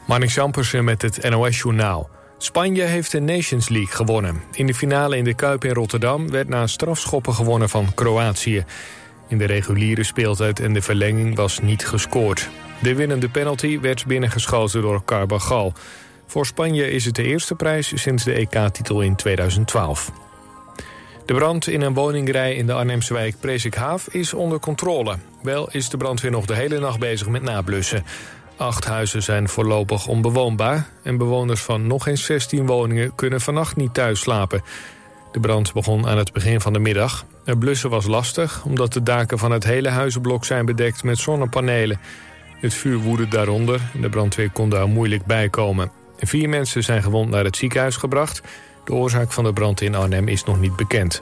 Marnix Ampersen met het NOS-journaal. Spanje heeft de Nations League gewonnen. In de finale in de Kuip in Rotterdam werd na strafschoppen gewonnen van Kroatië. In de reguliere speeltijd en de verlenging was niet gescoord. De winnende penalty werd binnengeschoten door Carvajal. Voor Spanje is het de eerste prijs sinds de EK-titel in 2012. De brand in een woningrij in de Arnhemse wijk Presikhaaf is onder controle. Wel is de brandweer nog de hele nacht bezig met nablussen. 8 huizen zijn voorlopig onbewoonbaar en bewoners van nog eens 16 woningen kunnen vannacht niet thuis slapen. De brand begon aan het begin van de middag. Het blussen was lastig omdat de daken van het hele huizenblok zijn bedekt met zonnepanelen. Het vuur woedde daaronder en de brandweer kon daar moeilijk bij komen. 4 mensen zijn gewond naar het ziekenhuis gebracht. De oorzaak van de brand in Arnhem is nog niet bekend.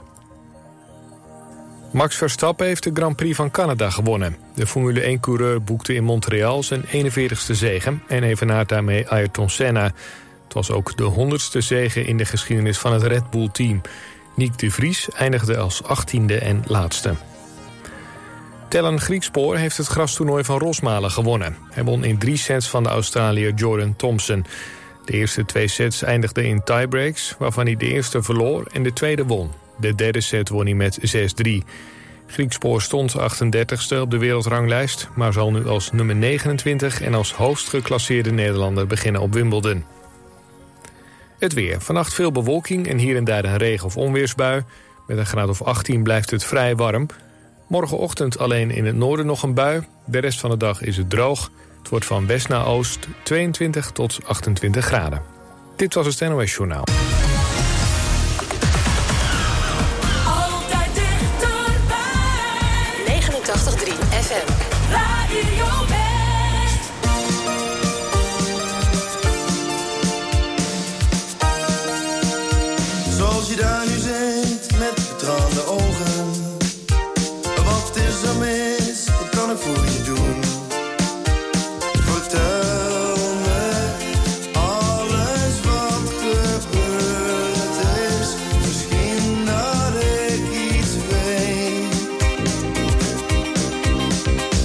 Max Verstappen heeft de Grand Prix van Canada gewonnen. De Formule 1-coureur boekte in Montreal zijn 41ste zege en evenaart daarmee Ayrton Senna. Het was ook de 100ste zege in de geschiedenis van het Red Bull-team. Nick de Vries eindigde als 18e en laatste. Tellen Griekspoor heeft het grastoernooi van Rosmalen gewonnen. Hij won in 3 sets van de Australiër Jordan Thompson. De eerste 2 sets eindigden in tiebreaks, waarvan hij de eerste verloor en de tweede won. De derde set won hij met 6-3. Griekspoor stond 38ste op de wereldranglijst, maar zal nu als nummer 29 en als hoogst geclasseerde Nederlander beginnen op Wimbledon. Het weer. Vannacht veel bewolking en hier en daar een regen- of onweersbui. Met een graad of 18 blijft het vrij warm. Morgenochtend alleen in het noorden nog een bui. De rest van de dag is het droog. Het wordt van west naar oost 22 tot 28 graden. Dit was het NOS Journaal. Altijd dichterbij. 89.3 FM. Radio West. Zoals je daar nu zit met betraande ogen. Wat is er mis? Wat kan ik voor je doen? Vertel me alles wat gebeurd is. Misschien dat ik iets weet.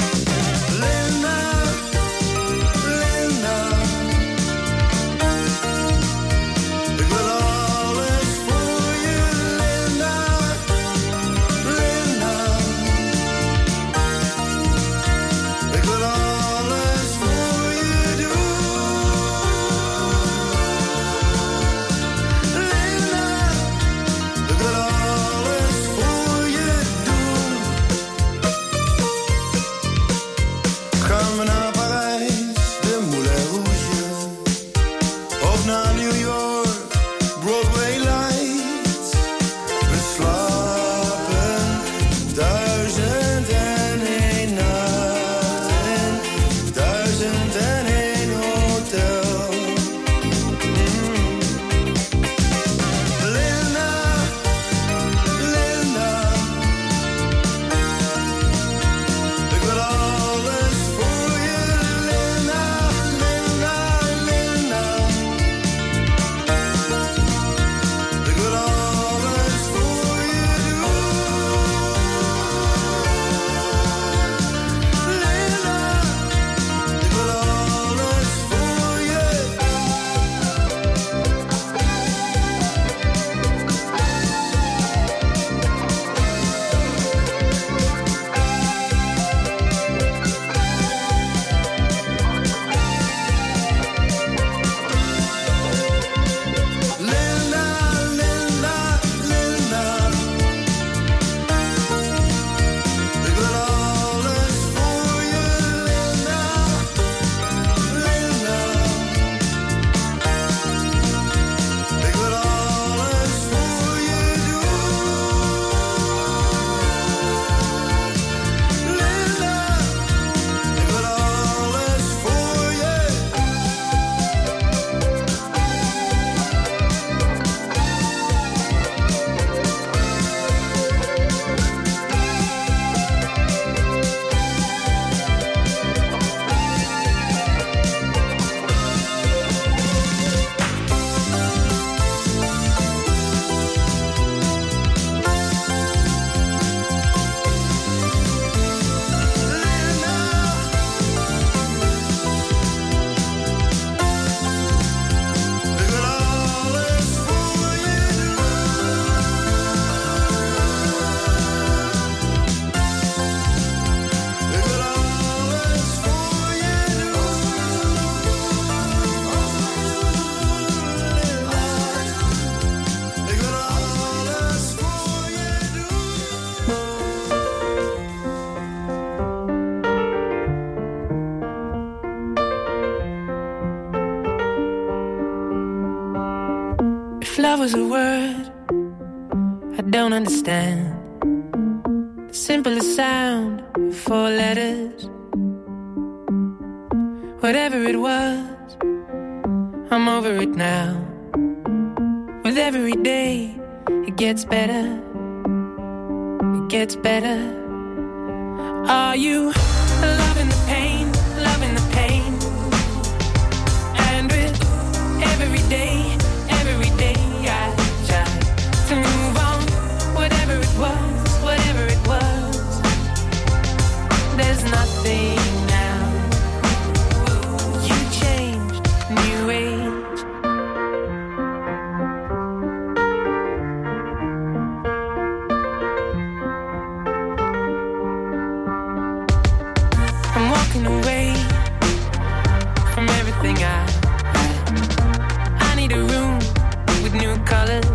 If love was a word I don't understand, the simplest sound, 4 letters. Whatever it was, I'm over it now. With every day, it gets better. It gets better. Are you loving the pain, loving the pain? And with every day I try to move on. Whatever it was, there's nothing now. You changed, new age. I'm walking away from everything I need a room with new colors.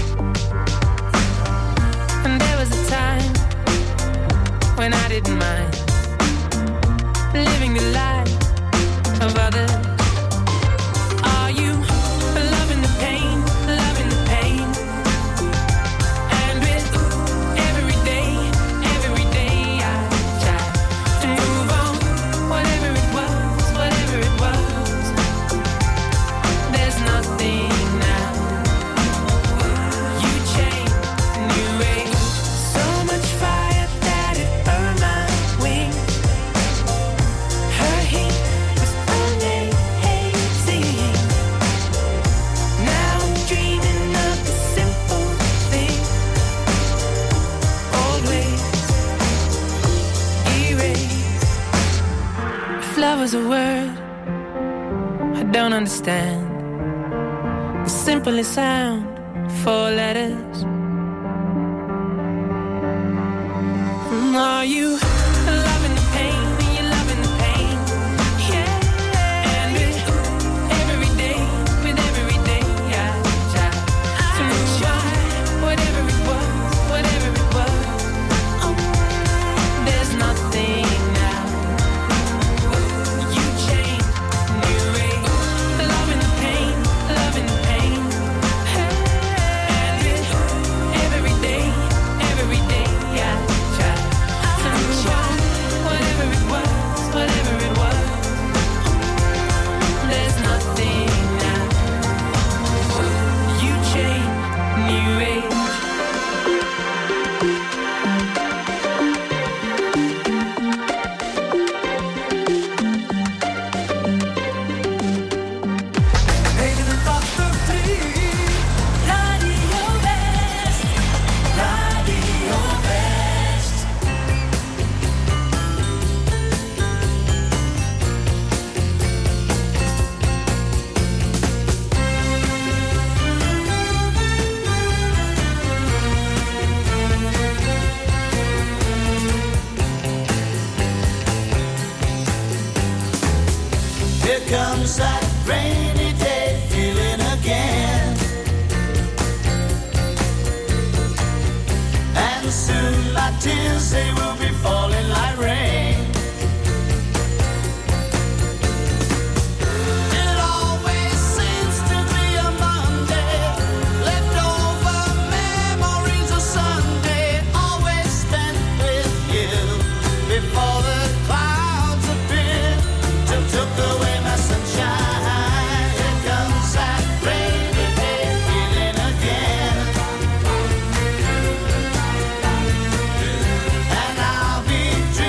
And there was a time when I didn't mind living the life of others. Are you loving the pain, loving the pain? And with every day I try to move on. Whatever it was, there's nothing now. You changed, new age. So much fire that it burned my wings. Her heat was amazing. Now I'm dreaming of the simple thing. Old ways erased. If love was a word I don't understand, the simplest sound, 4 letters. Are you loving the pain? Are you loving the pain? Yeah. And with every day I try to move on. Whatever it was, there's nothing now. You changed, new age. Loving the pain, loving the pain. And with every day I try to move on. Whatever it was, there's nothing now. You changed, new age. Radio West. Radio West. Here comes that rainy day feeling again. And soon my tears, they will be falling like rain. It always seems to be a Monday, leftover memories of Sunday, always spent with you before the clouds appeared, took away my sunshine. Here comes that rainy day feeling again. And I'll be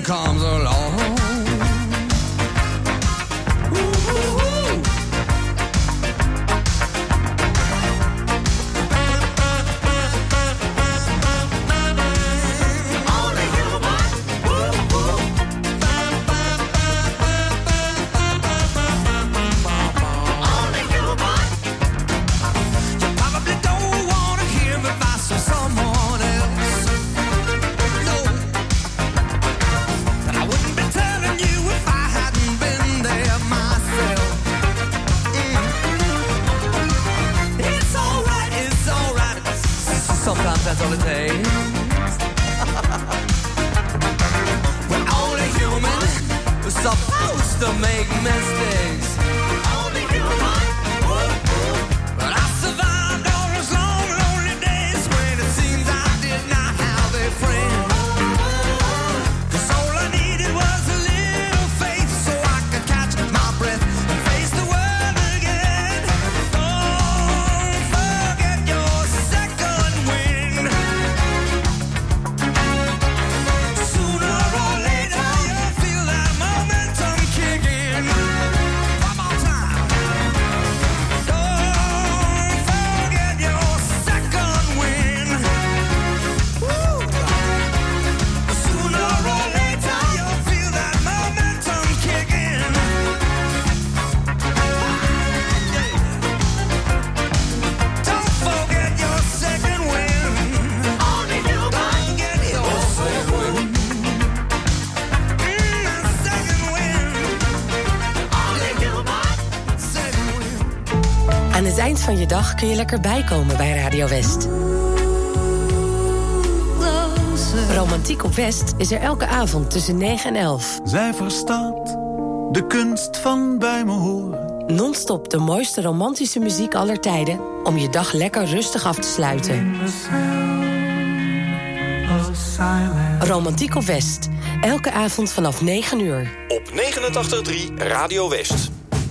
comes along. That's all it takes. We're only human. We're supposed to make mistakes. Only human. But I survived all those long, lonely days when it seems I did not have a friend. 'Cause all I needed was a little faith so I could catch my breath and face the world again. Don't forget your second wind. Sooner or later you'll feel that momentum kick in. One more time. Don't forget your second wind. Woo. Sooner or later you'll feel that momentum kick in. Don't forget your second wind. Only you can get your second wind. Second wind. Only you can second wind. Aan het eind van je dag kun je lekker bijkomen bij Radio West. Romantiek op West is er elke avond tussen 9 en 11. Zij verstaat de kunst van bij me horen. Non-stop de mooiste romantische muziek aller tijden om je dag lekker rustig af te sluiten. Romantiek op West. Elke avond vanaf 9 uur. Op 89.3 Radio West.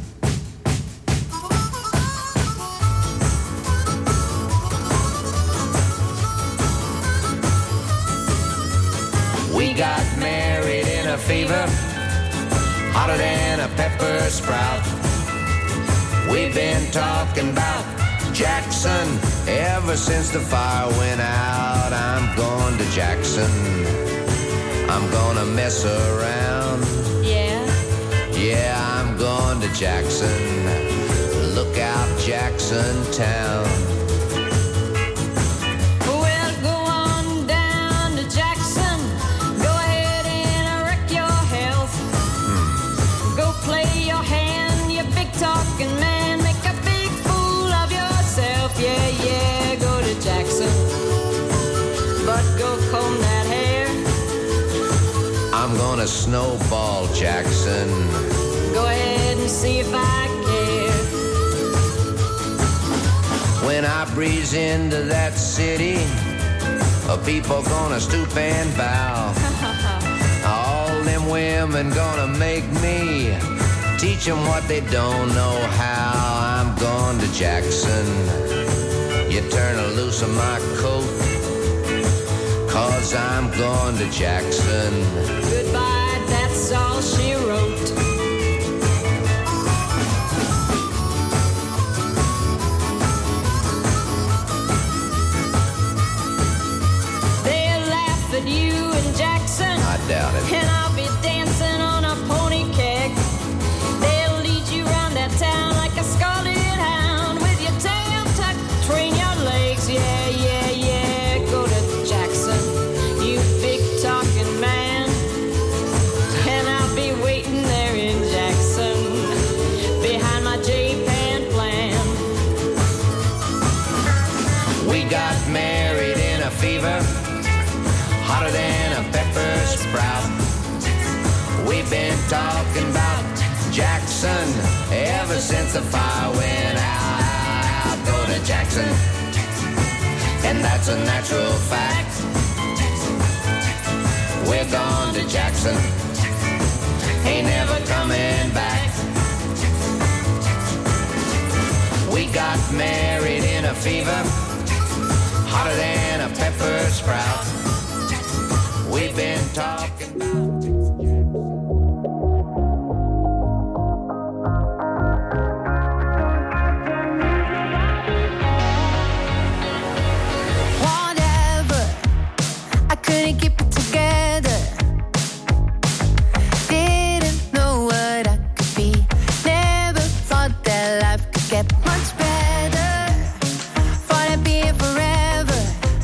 We got married in a fever, hotter than a pepper sprout. We've been talking about Jackson ever since the fire went out. I'm going to Jackson. I'm gonna mess around. Yeah, I'm going to Jackson. Look out, Jackson Town. Well, go on down to Jackson. Go ahead and wreck your health. Go play your hand, you big talking man. Make a big fool of yourself. Yeah, go to Jackson. But go comb that hair. I'm gonna snowball Jackson. Go ahead and see if I care. When I breeze into that city, people gonna stoop and bow. All them women gonna make me teach them what they don't know how. I'm going to Jackson. You turn loose of my coat, 'cause I'm going to Jackson. Goodbye, that's all she wrote. They'll laugh at you in Jackson. I doubt it. And I'll be dancing on a pony keg. They'll lead you around that town like a scarlet hound with your tail tucked between your legs. Yeah, go to Jackson, you big talking man. And I'll be waiting there in Jackson behind my J-Pan plan. We got married in a fever, hotter than a pepper sprout. We've been talking about Jackson ever since the fire went out. Go to Jackson, and that's a natural fact. We're gone to Jackson, ain't never coming back. We got married in a fever, hotter than a pepper sprout. We've been talking about together. Didn't know what I could be. Never thought that life could get much better. Thought I'd be here forever.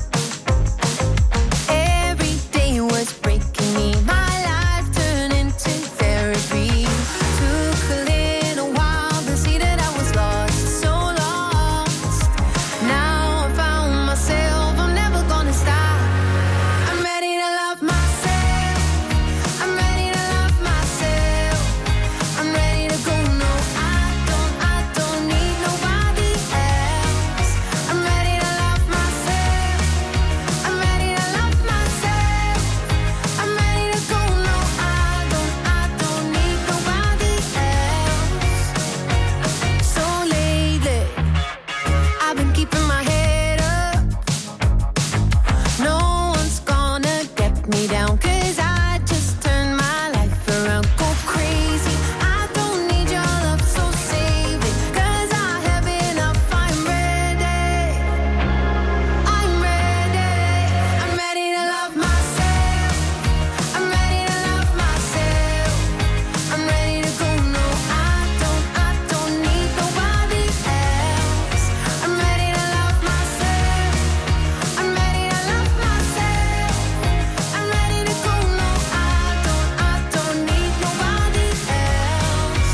Every day was breaking me. My life turned into therapy. Took a little while to see that I was lost, so lost. Now I found myself, I'm never gonna stop. I'm ready to love myself. I'm ready to love myself. I'm ready to go. No, I don't need nobody else. I'm ready to love myself. I'm ready to love myself. I'm ready to go. No, I don't need nobody else. So lately, I've been keeping my head up. No one's gonna get me down, 'cause I just turned my life around. Go crazy, I don't need your love, so save it, 'cause I have enough. I'm ready. I'm ready. I'm ready to love myself. I'm ready to love myself. I'm ready to go. No, I don't need nobody else. I'm ready to love myself. I'm ready to love myself. I'm ready to go. No, I don't need nobody else.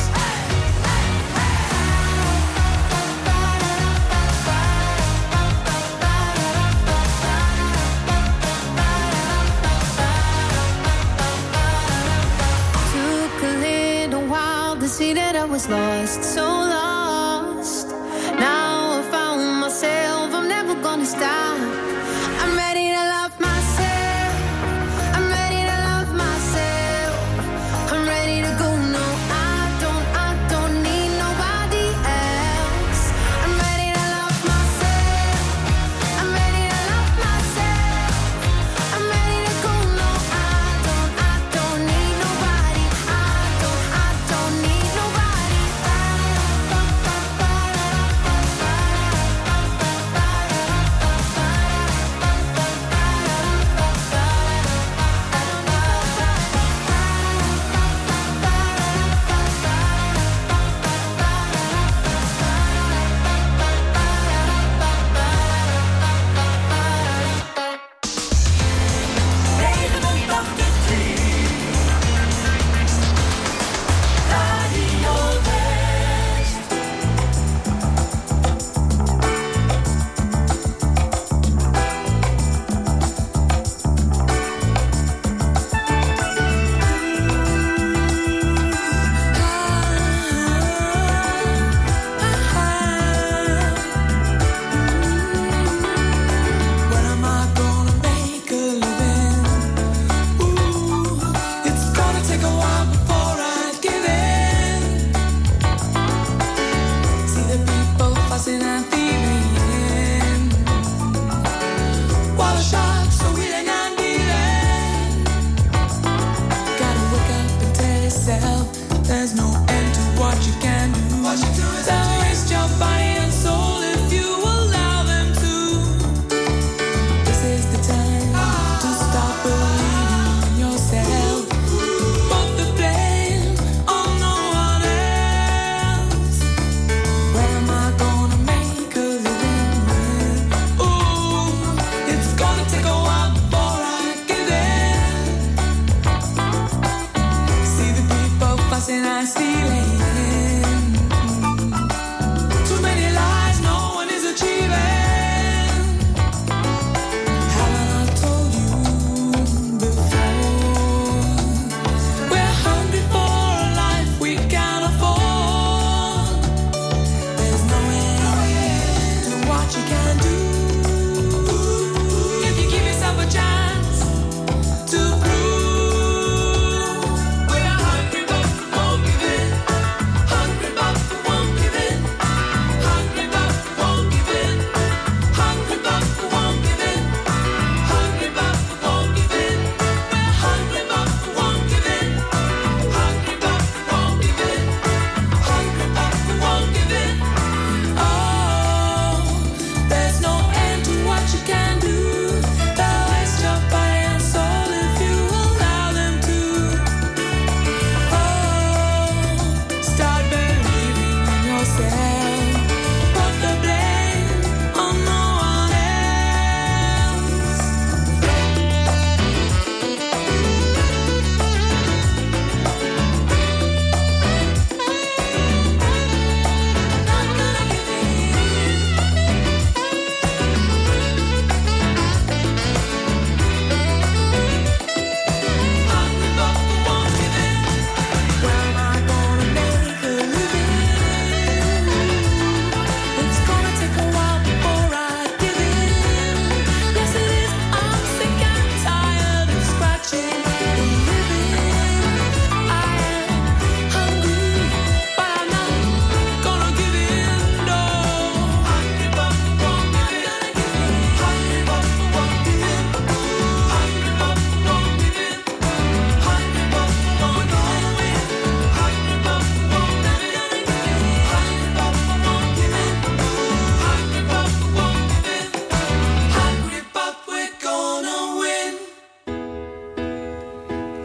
Took a little while to see that I was lost, so lost. Now I found myself, I'm never gonna stop. I'm ready to love myself. I'm ready to love myself. I'm ready to go. No, I don't need nobody else. I'm ready to love myself. I'm ready to love myself. I'm ready to go. No, I don't need nobody. I don't need nobody else.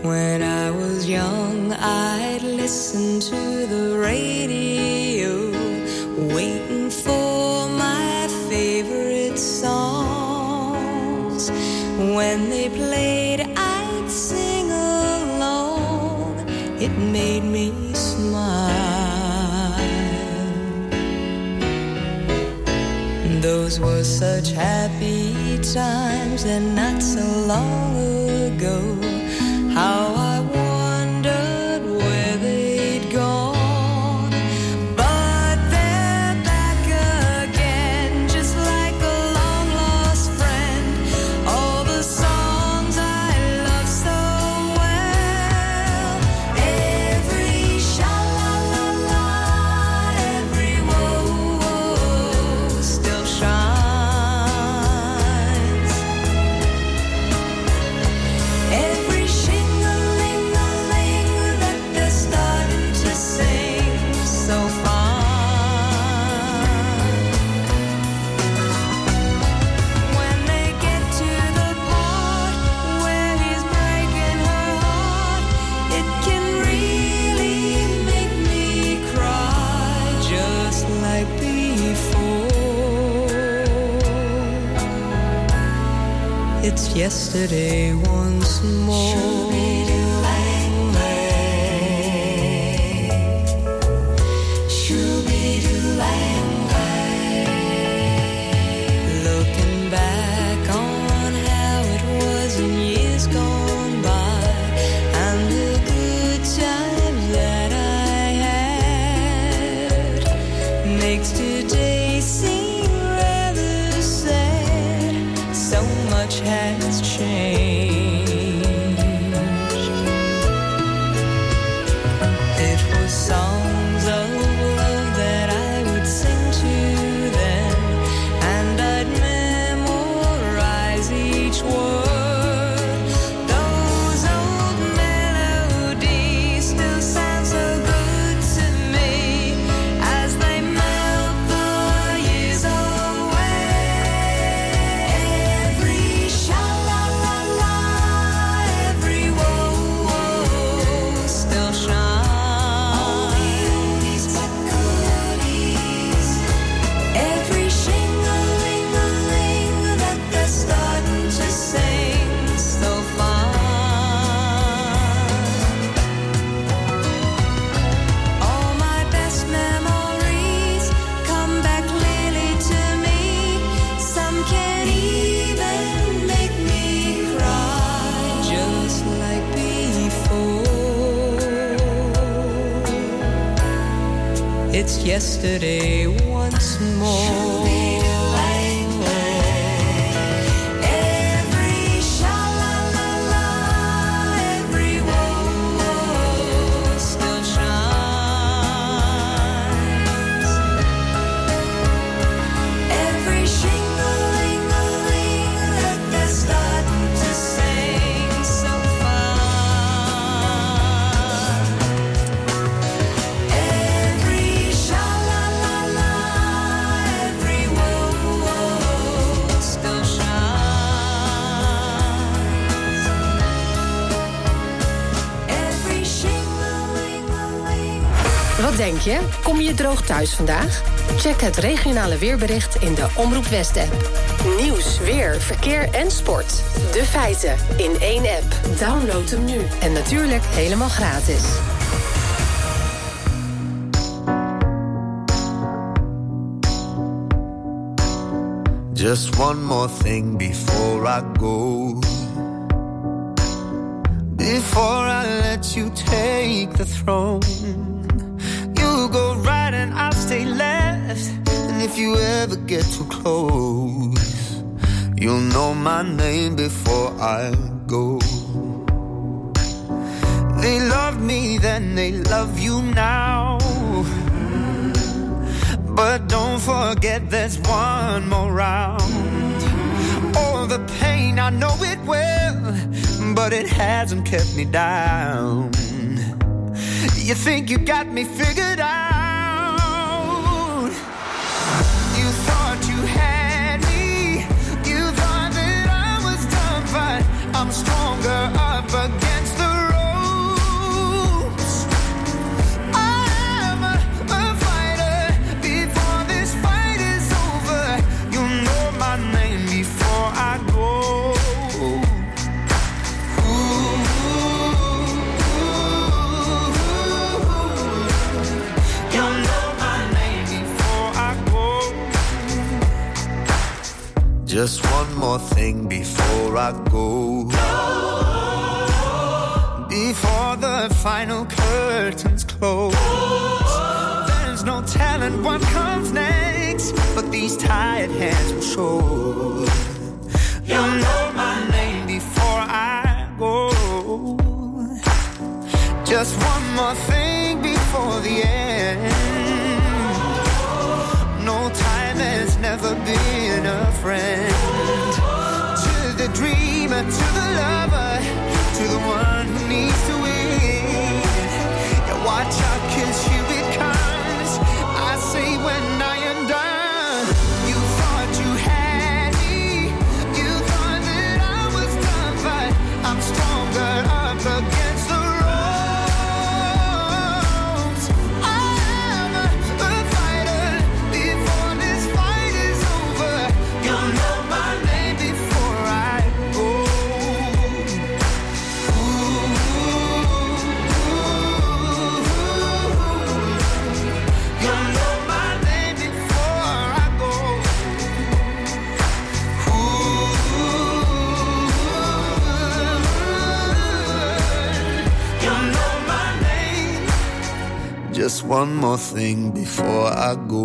When I was young, I'd listen to the radio, waiting for my favorite songs. When they played, I'd sing along. It made me smile. Those were such happy times, and not so long ago. How I wondered where they'd gone. But they're back again, just like a long-lost friend. All the songs I love so well. Every sha-la-la-la, every whoa-whoa still shines. Every shing-a-ling-a-ling that they're starting to sing so fine. When they get to the part where he's breaking her heart, it can really make me cry, just like before. It's yesterday once more. Looking back on how it was in years gone by, and the good times that I had, makes today seem rather sad. So much has changed. It was songs of love that I would sing to them, and I'd memorize each word. Those old melodies still sound so good to me as they melt the years away. Every sha-la-la-la, every whoa-whoa still shines. Oldies but goodies. Every shing-a-ling-a-ling that they're starting to sing so fine. All my best memories come back clearly to me. Some can even make me cry, just like before. It's yesterday once more. Every sha-la-la-la, every whoa-whoa still shines. Every shing-a-ling-a-ling that they're starting to sing so fine. Every sha-la-la-la, every whoa-whoa still shines. Every shing-a-ling-a-ling. Wat denk je? Kom je droog thuis vandaag? Check het regionale weerbericht in de Omroep West-app. Nieuws, weer, verkeer en sport. De feiten in één app. Download hem nu. En natuurlijk helemaal gratis. Just one more thing before I go. Before I let you take the throne. You go right and I'll stay left. And if you ever get too close, you'll know my name before I go. They loved me then, they love you now. But don't forget there's one more round. Oh, the pain, I know it well, but it hasn't kept me down. You think you got me figured out. You thought you had me. You thought that I was done, but I'm stronger up against the road. Just one more thing before I go. Before the final curtains close. There's no telling what comes next, but these tired hands will show. You'll know my name before I go. Just one more thing before the end. No time has never been a friend. To the dreamer, to the lover, to the one who needs to win. Yeah, watch out, 'cause here it comes. I say when I am done. You thought you had me. You thought that I was done, but I'm stronger up against the ropes. I'm a fighter before this fight is over. You'll know my name before I go. You'll know my name before I go. You'll know my name. Just one more thing before I go.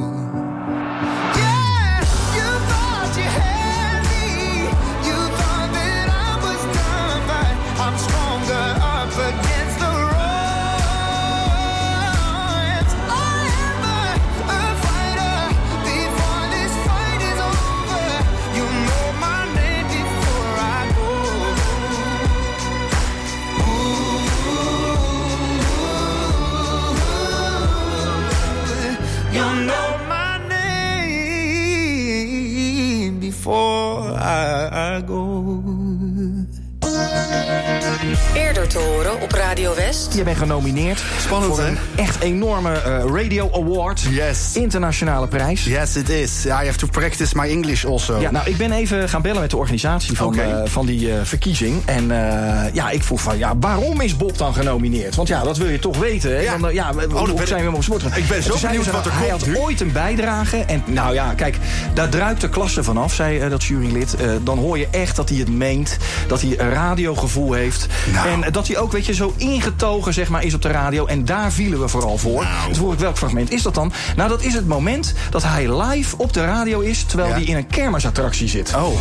Yeah, you thought you had me. You thought that I was done, but I'm stronger up against the ropes. I am a fighter before this fight is over. You know my name before I go. You know my name before I go. Eerder te horen op Radio West. Je bent genomineerd. Spannend, voor hè? een echt enorme Radio Award. Yes. Internationale prijs. Yes, it is. Yeah, I have to practice my English also. Ja, nou, ik ben even gaan bellen met de organisatie van die verkiezing. En ik vroeg van, waarom is Bob dan genomineerd? Want ja, dat wil je toch weten, hè? Ja. Dan, hoe zijn we hem op sport? Ik ben zo benieuwd wat er hij komt had nu. ooit een bijdrage. En nou ja, kijk, daar druipt de klasse vanaf, zei dat jurylid. Dan hoor je echt dat hij het meent. Dat hij een radiogevoel heeft. Nou. En dat hij ook, weet je, zo ingetogen, zeg maar, is op de radio. En daar vielen we vooral voor. Nou. Dus vroeg ik, welk fragment is dat dan? Nou, dat is het moment dat hij live op de radio is, terwijl hij in een kermisattractie zit. Oh.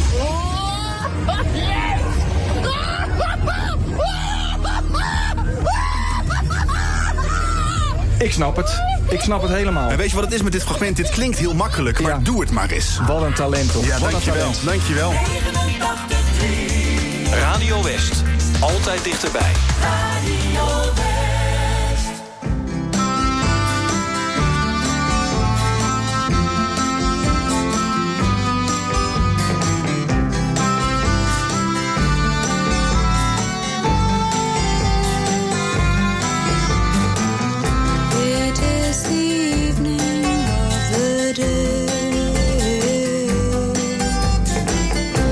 Ik snap het. Ik snap het helemaal. En weet je wat het is met dit fragment? Dit klinkt heel makkelijk, maar doe het maar eens. Wat een talent, toch? Ja, Wat dankjewel. een talent. Dankjewel. Radio West. Altijd dichterbij. Radio West. It is the evening of the day.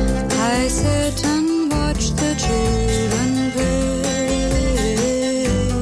I sit and watch the children play.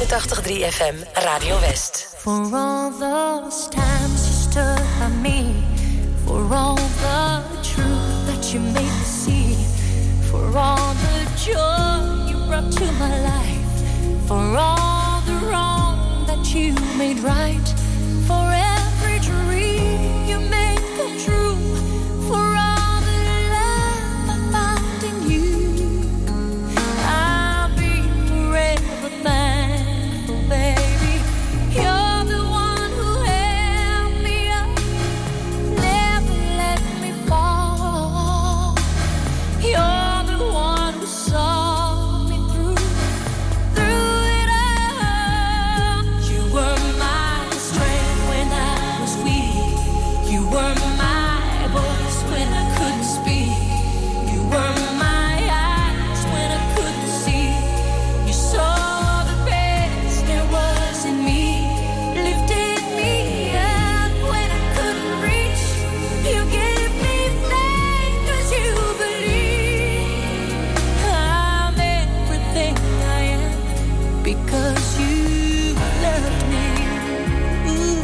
89.3 FM Radio West. For all those times you stood by me, for all the truth that you made me see, for all the joy you brought to my life, for all the wrong that you made right, for every dream you made come true, for all the love I found in you, I'll be forever thankful, baby. You're the one who held me up, never let me fall. You're the one who saw me through it all. You were my strength when I was weak. You were my voice when I couldn't speak. You were my eyes when I couldn't see. You saw the best there was in me, lifted me up when I couldn't reach. You gave me faith 'cause you believe I'm everything I am because you loved me. Ooh,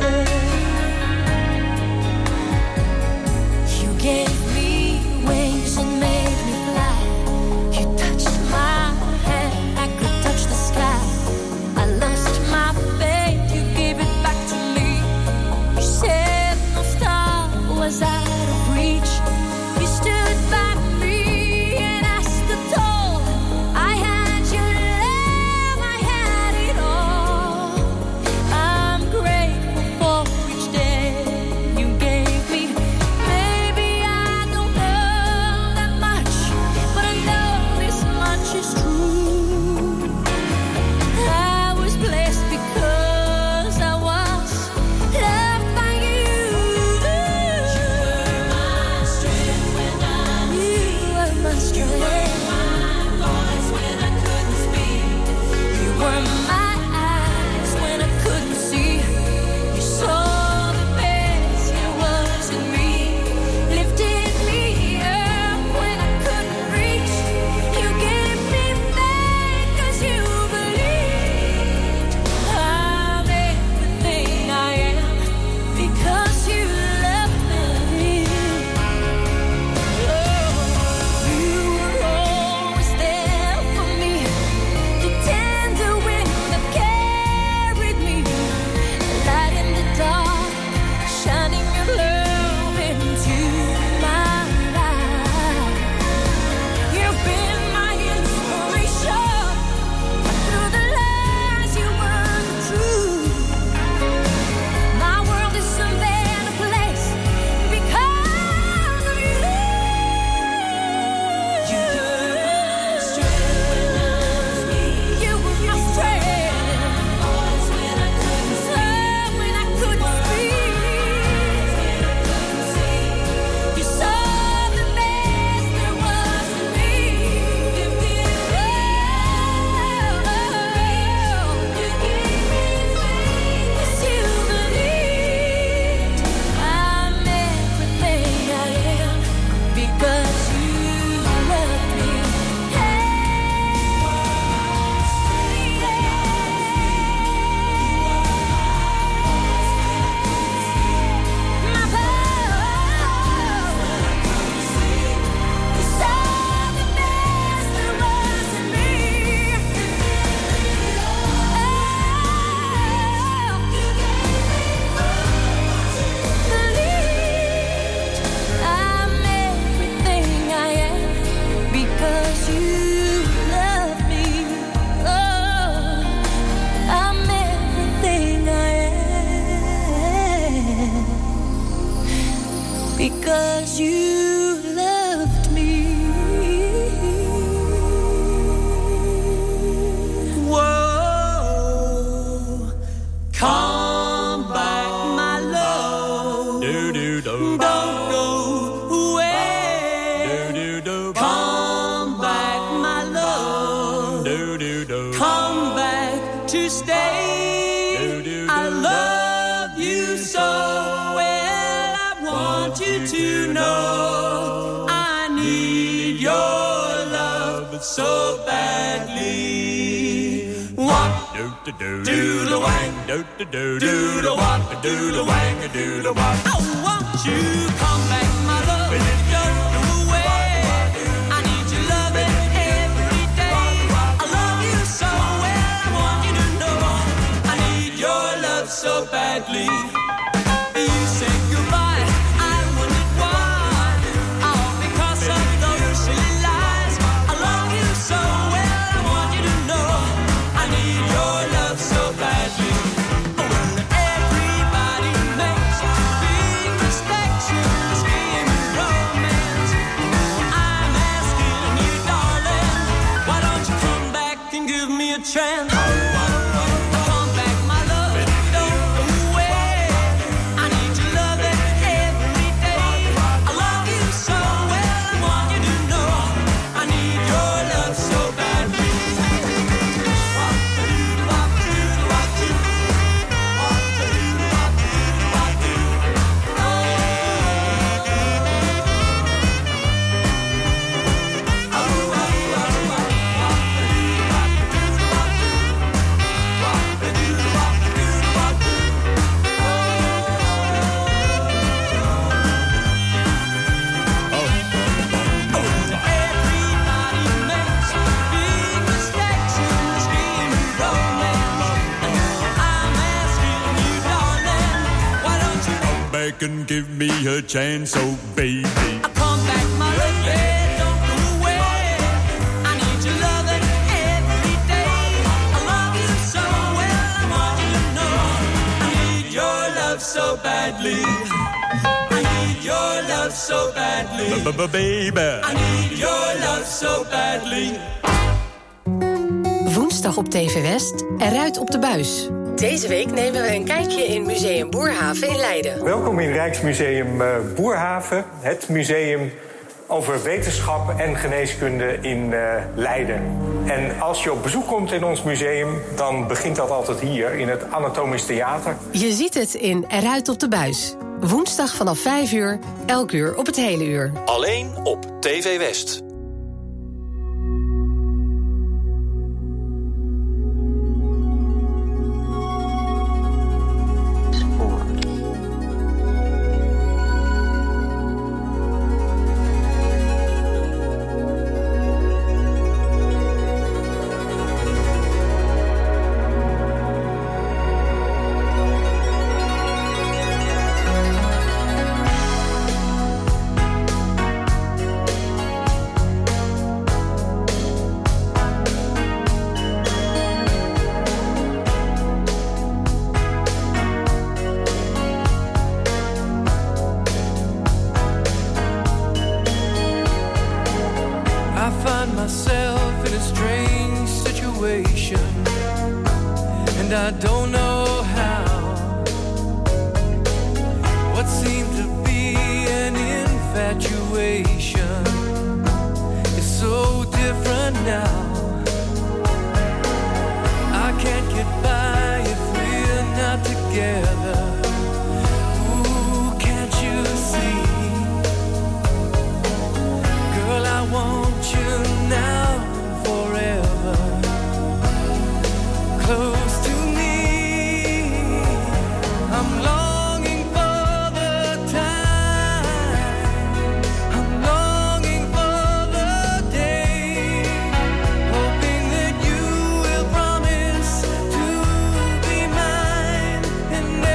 you gave me wings and made me fly. You touched my hand, I could touch the sky. I lost my faith, you gave it back to me. You said no star was out of reach. You stood by me and I stood tall. I had your love, I had it all. I'm grateful for each day you gave me. Maybe I don't know that much, but I know this much is true. I was blessed because I was loved by you. You were my strength when I was weak. You were my strength. You were my voice when I couldn't speak. You were my eyes when I couldn't see. You saw the best there was in me, lifted me up when I couldn't reach. You gave me faith 'cause you believed I'm everything I am because you loved me. You were always there for me, the tender wind that carried me, light in the dark, shining your love into my life. You've been my inspiration, through the lies you were the truth. My world is a better place because of you. You were my strength when I was weak. You were my strength. Voice when I couldn't speak. When I couldn't speak. You saw the best there was in me. You gave me faith 'cause you believed I'm everything I am because you loved me. My voice, you saw the best there was in me. Believed I'm everything I am because you love me. Oh, I'm everything I am because you loved me. Whoa, come back, my love. Don't go away. Come back, my love. Come back to stay. I love you so well. I want you to know I need your love so badly. What do the wang, do the wop, do the wang, do the wop. Oh, won't you come back, my love? Don't go away. I need your loving every day. I love you so well, I want you to know I need your love so badly. You said goodbye, I wondered why. All because of those silly lies. I love you so well, I want you to know I need your love so badly. When everybody makes big mistakes, you scream romance. I'm asking you, darling, why don't you come back and give me a chance? Come back, my love, don't go away. I need your loving every day. I love you so well, I want you to know I need your love so badly. And give me a chance, oh baby. Come back, my love, yeah, don't go away. I need your loving every day. I love you so well, I want you to know I need your love so badly. I need your love so badly. Baby. I need your love so badly. Woensdag op TV West, eruit op de buis. Deze week nemen we een kijkje in Museum Boerhaven in Leiden. Welkom in Rijksmuseum Boerhaven, het museum over wetenschap en geneeskunde in Leiden. En als je op bezoek komt in ons museum, dan begint dat altijd hier in het Anatomisch Theater. Je ziet het in Eruit op de buis. Woensdag vanaf 5 uur, elk uur op het hele uur. Alleen op TV West. And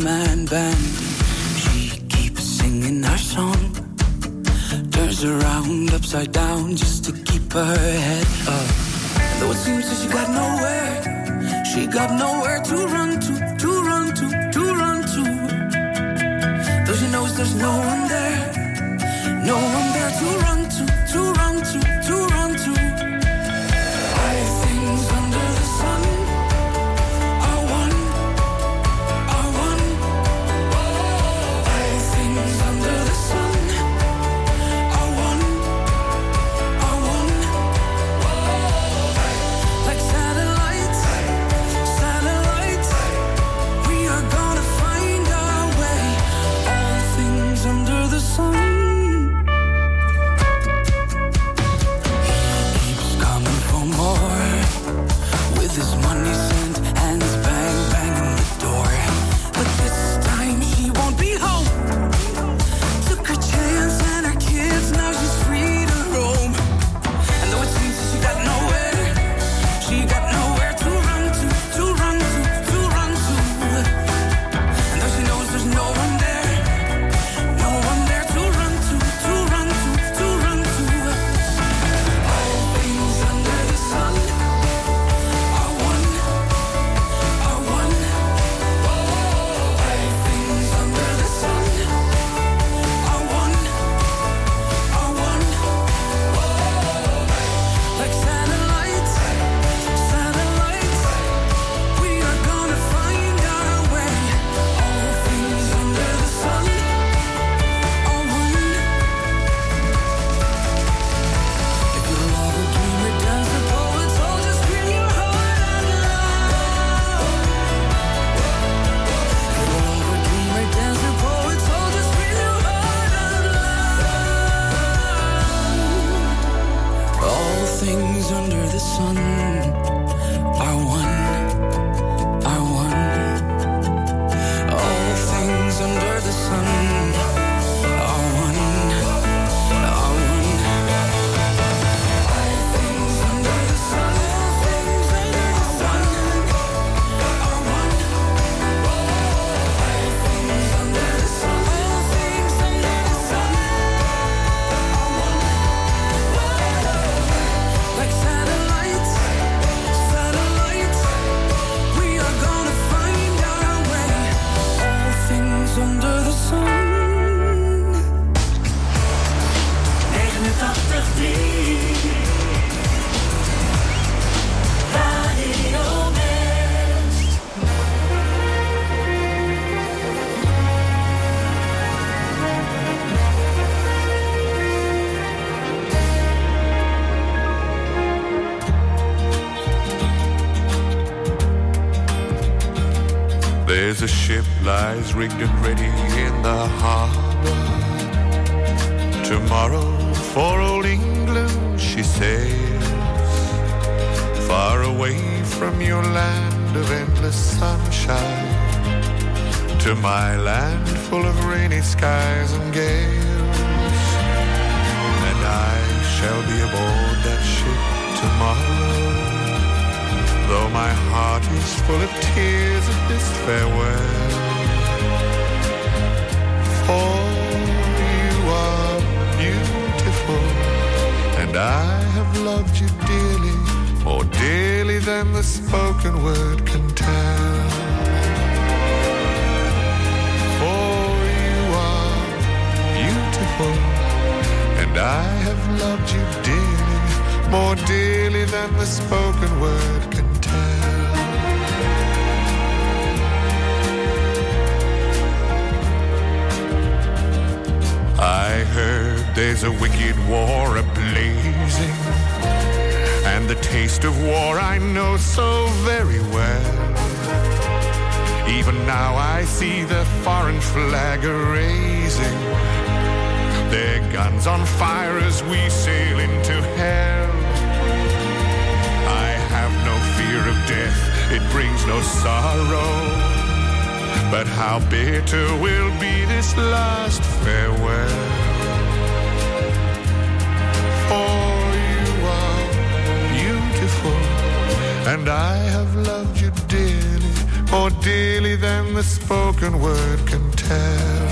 one-man band. She keeps singing her song, turns around upside down just to keep her head up. And though it seems that she got nowhere to run to run to, to run to. Though she knows there's no one there to run to run to, to run to. All things under the sun are one, are one. All things under the sun are one, are one. Like satellites, satellites, we are gonna find our way. All things under the sun. This money sent, hands bang, banging the door. But this time she won't be home. Took her chance and her kids, now she's free to roam. And though it seems that she got nowhere to run to run to, to run to. And though she knows there's no one there to run to run to, to run to. All things under the sun. Under the sun are one, are one. All things under the sun are one, are one. All things under the sun, all things under the sun are one. All things under the sun, all things under the sun are one. Like satellites, satellites, we are gonna find our way. All things under the sun. 89.3 Radio West. There's a ship lies rigged and ready in the harbor. Tomorrow for old England she sails, far away from your land of endless sunshine, to my land full of rainy skies and gales. And I shall be aboard that ship tomorrow, though my heart is full of tears at this farewell. For you are beautiful, and I have loved you dearly, more dearly than the spoken word can tell. For you are beautiful, and I have loved you dearly, more dearly than the spoken word can tell. I heard there's a wicked war a-blazing, and the taste of war I know so very well. Even now I see the foreign flag a-raising, their guns on fire as we sail into hell. I have no fear of death, it brings no sorrow, but how bitter will be this last farewell. For you are beautiful, and I have loved you dearly, more dearly than the the spoken word can tell.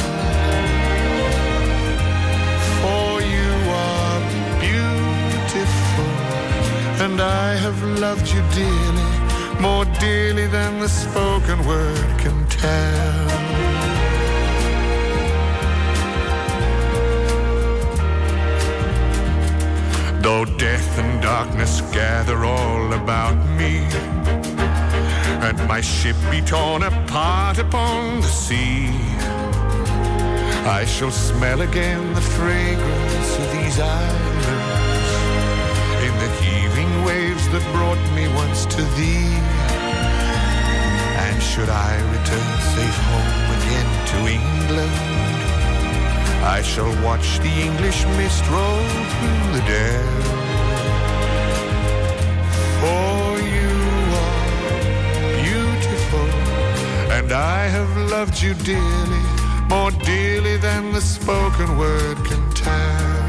For you are beautiful, and I have loved you dearly, more dearly than the spoken word can tell. Though death and darkness gather all about me, and my ship be torn apart upon the sea, I shall smell again the fragrance of these islands in the heaving waves that brought me once to thee. And should I return safe home again to England, I shall watch the English mist roll through the dell. For you are beautiful, and I have loved you dearly, more dearly than the spoken word can tell.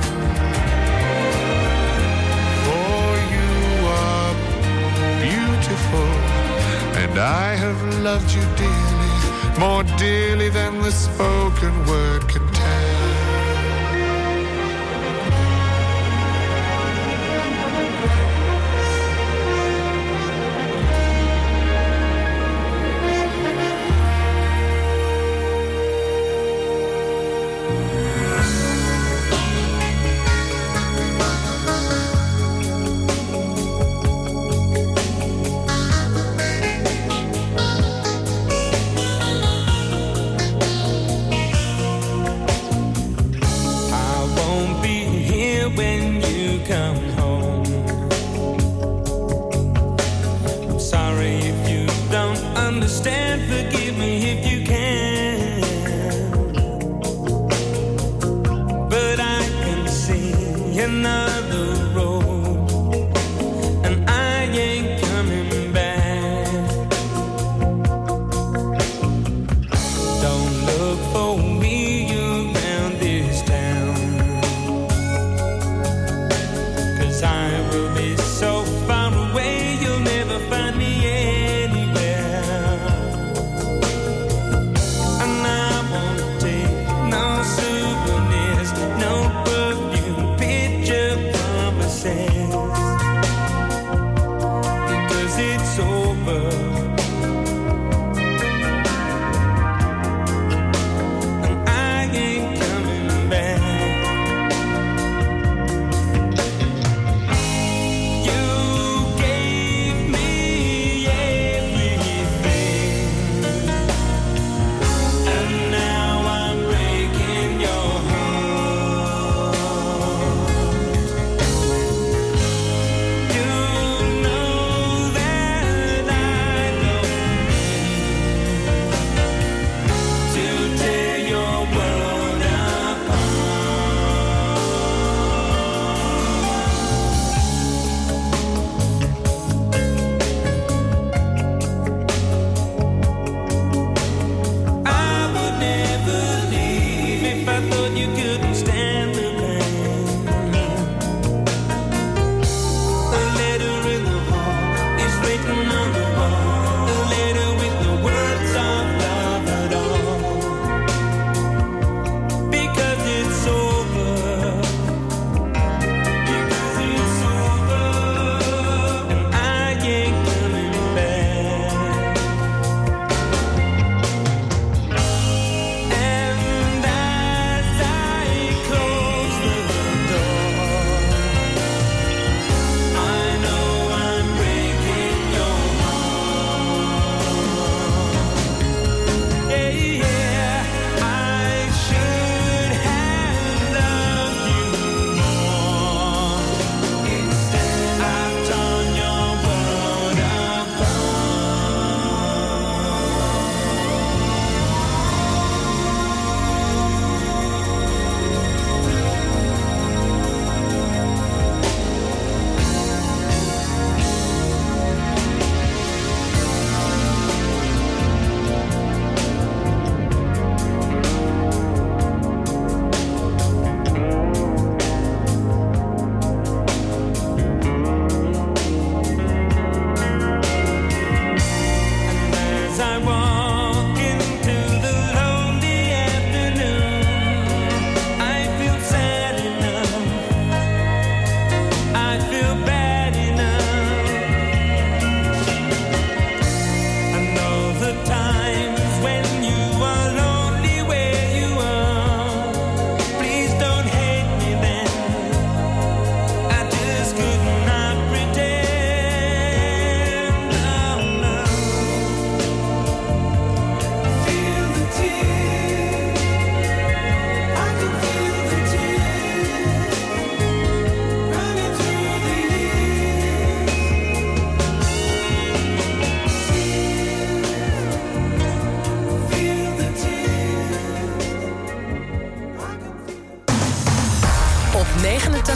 For you are beautiful, and I have loved you dearly, more dearly than the spoken word can tell. You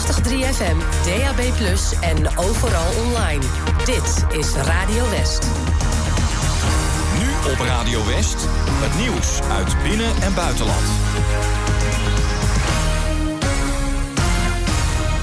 89.3 FM, DAB+, en overal online. Dit is Radio West. Nu op Radio West, het nieuws uit binnen- en buitenland.